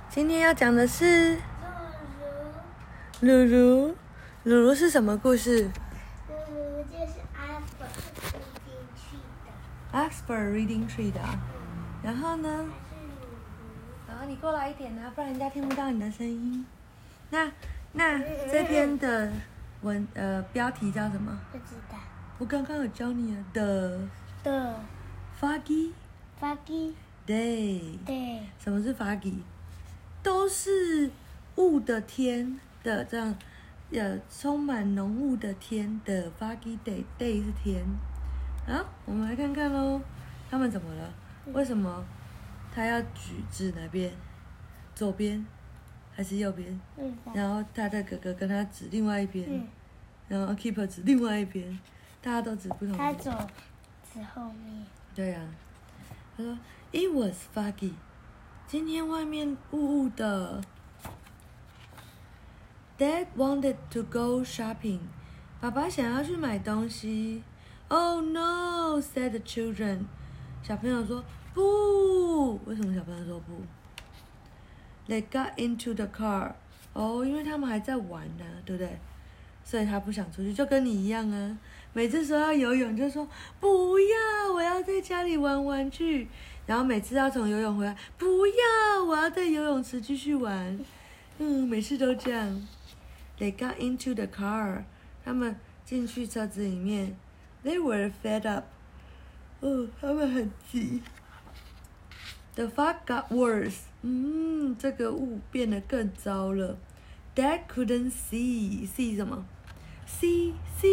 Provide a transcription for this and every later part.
今天要讲的是鲁鲁。鲁鲁是什么故事？ 鲁鲁就是 Oxford Reading Tree 的啊。然后呢？ 还是鲁鲁。 然后你过来一点啊，不然人家听不到你的声音。那这篇的标题叫什么？ 不知道。 我刚刚有教你啊的 Foggy Day。 对。 什么是 foggy？ 都是雾的天的这样，充满浓雾的天的 foggy day 是天。好，我们来看看咯，他们怎么了？为什么他要指哪边？左边还是右边？然后他的哥哥跟他指另外一边，然后 keeper 指另外一边，大家都指不同的。 他左指后面。 对啊，他说 It was foggy， 今天外面雾雾的。Dad wanted to go shopping， 爸爸想要去买东西。Oh no， said the children， 小朋友说不。为什么小朋友说不？ They got into the car， 因为他们还在玩呢，对不对？所以他不想出去，就跟你一样啊。每次说要游泳就说不要，我要在家里玩玩具。然后每次要从游泳回来，不要，我要在游泳池继续玩。每次都这样。They got into the car， 他们进去车子里面。They were fed up， 他们很急。The fog got worse， 这个雾变得更糟了。Dad couldn't see 什么 ？see，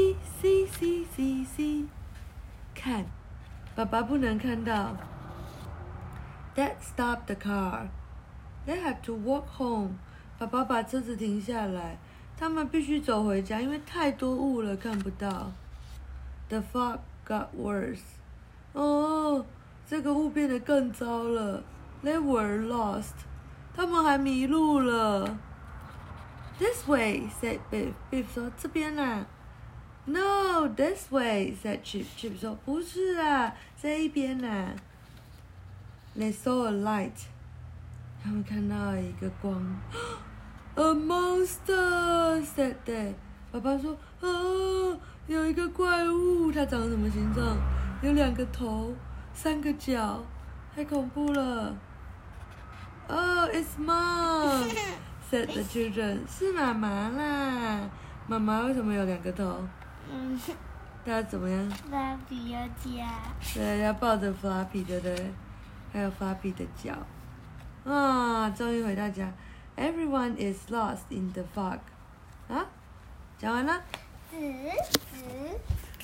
看，爸爸不能看到。Dad stopped the car. They had to walk home. 爸爸把车子停下来，他们必须走回家，因为太多雾了，看不到。The fog got worse. 这个雾变得更糟了。They were lost. 他们还迷路了。This way, said Biff. Biff 说这边啦。No, this way, said Chip. Chip 说不是啦，这一边啦。They saw a light. 他们看到一个光。A monster, said Dad. 爸爸说有一个怪物，它长什么形状？有2个头，3个脚，太恐怖了。It's Mom, said the children. 是妈妈啦。妈妈为什么有2个头？她怎么样？ 芭比要家。 对，要抱着 Fluffy， 对不对？还有 Fluffy 的脚。终于回到家。Everyone is lost in the fog。讲完了。